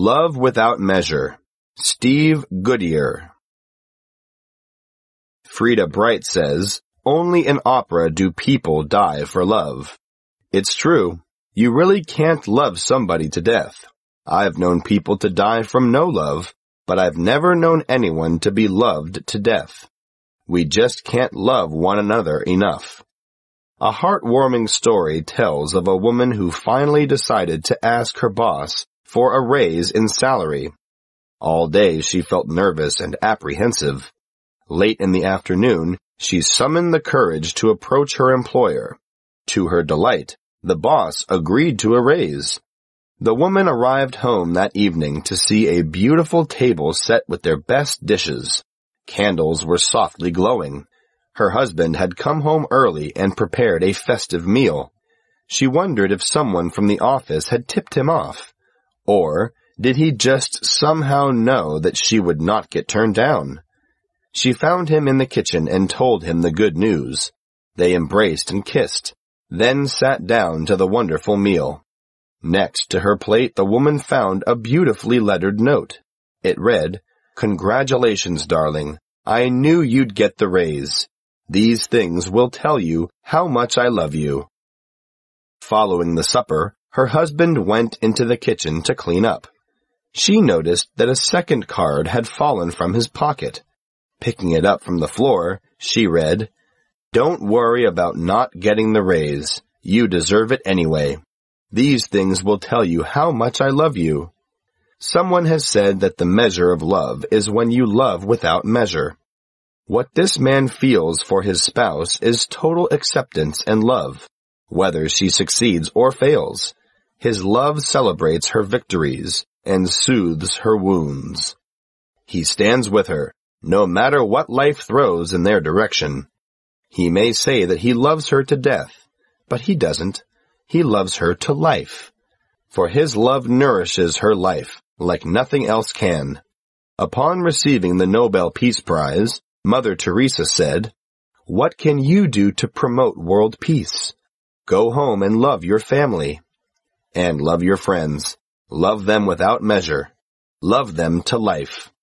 Love Without Measure. Steve Goodyear. Frida Bright says, "Only in opera do people die for love." It's true. You really can't love somebody to death. I've known people to die from no love, but I've never known anyone to be loved to death. We just can't love one another enough. A heartwarming story tells of a woman who finally decided to ask her boss for a raise in salary. All day she felt nervous and apprehensive. Late in the afternoon, she summoned the courage to approach her employer. To her delight, the boss agreed to a raise. The woman arrived home that evening to see a beautiful table set with their best dishes. Candles were softly glowing. Her husband had come home early and prepared a festive meal. She wondered if someone from the office had tipped him off. Or did he just somehow know that she would not get turned down? She found him in the kitchen and told him the good news. They embraced and kissed, then sat down to the wonderful meal. Next to her plate, the woman found a beautifully lettered note. It read, "Congratulations, darling. I knew you'd get the raise. These things will tell you how much I love you." Following the supper, her husband went into the kitchen to clean up. She noticed that a second card had fallen from his pocket. Picking it up from the floor, she read, "Don't worry about not getting the raise. You deserve it anyway. These things will tell you how much I love you." Someone has said that the measure of love is when you love without measure. What this man feels for his spouse is total acceptance and love, whether she succeeds or fails. His love celebrates her victories and soothes her wounds. He stands with her, no matter what life throws in their direction. He may say that he loves her to death, but he doesn't. He loves her to life. For his love nourishes her life like nothing else can. Upon receiving the Nobel Peace Prize, Mother Teresa said, "What can you do to promote world peace? Go home and love your family. And love your friends. Love them without measure. Love them to life."